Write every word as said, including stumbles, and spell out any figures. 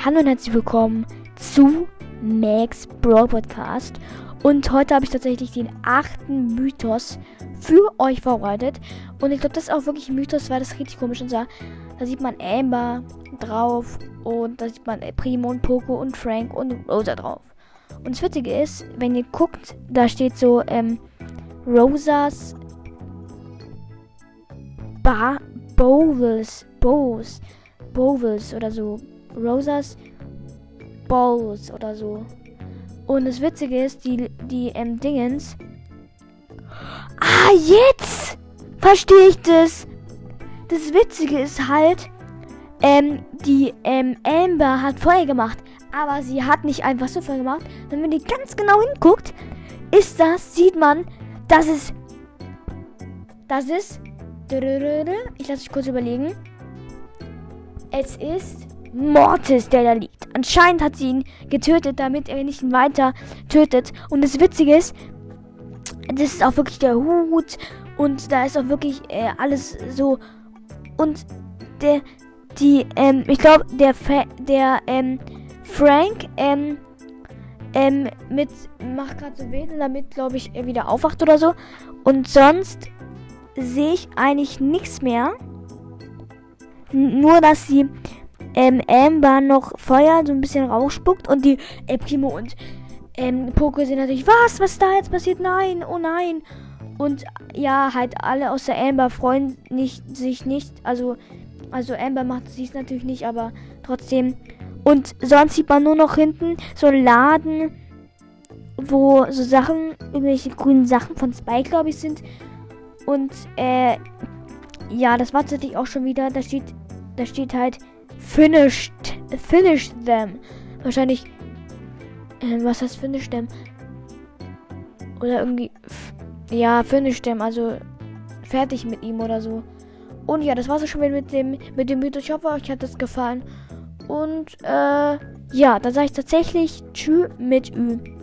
Hallo und herzlich willkommen zu Max Brawl Podcast. Und heute habe ich tatsächlich den achten Mythos für euch vorbereitet. Und ich glaube, das ist auch wirklich ein Mythos, weil das richtig komisch ist. Da sieht man Amber drauf und da sieht man Primo und Poco und Frank und Rosa drauf. Und das Witzige ist, wenn ihr guckt, da steht so ähm, Rosas ba Bowls, Bowls, Bowls oder so. Rosas Bowls oder so. Und das Witzige ist, die, die ähm, Dingens. Ah, jetzt verstehe ich das. Das Witzige ist halt, ähm, die ähm, Amber hat Feuer gemacht. Aber sie hat nicht einfach so Feuer gemacht. Wenn man die ganz genau hinguckt, ist das, sieht man, dass es, das ist, ich lasse mich kurz überlegen. Es ist Mortis, der da liegt. Anscheinend hat sie ihn getötet, damit er nicht weiter tötet. Und das Witzige ist, das ist auch wirklich der Hut. Und da ist auch wirklich äh, alles so. Und der, die, ähm, ich glaube, der, Fa- der, ähm, Frank, ähm, ähm, mit, macht gerade so Wedeln, damit, glaube ich, er wieder aufwacht oder so. Und sonst sehe ich eigentlich nichts mehr. N- nur, dass sie ähm, Amber noch Feuer so ein bisschen rausspuckt und die äh, Primo und ähm, Poco sind natürlich, was, was ist da jetzt passiert? Nein, oh nein. Und ja, halt alle außer Amber freuen nicht, sich nicht. Also, also Amber macht es natürlich nicht, aber trotzdem. Und sonst sieht man nur noch hinten so einen Laden, wo so Sachen, irgendwelche grünen Sachen von Spike, glaube ich, sind. Und äh, ja, das war tatsächlich auch schon wieder. Da steht, da steht halt Finished, finished them. Wahrscheinlich, äh, was heißt finished them? Oder irgendwie, f- ja, finished them, also fertig mit ihm oder so. Und ja, das war's auch schon wieder mit dem, mit dem Mythos. Ich hoffe, euch hat das gefallen. Und, äh, ja, dann sage ich tatsächlich Tschü mit Ü.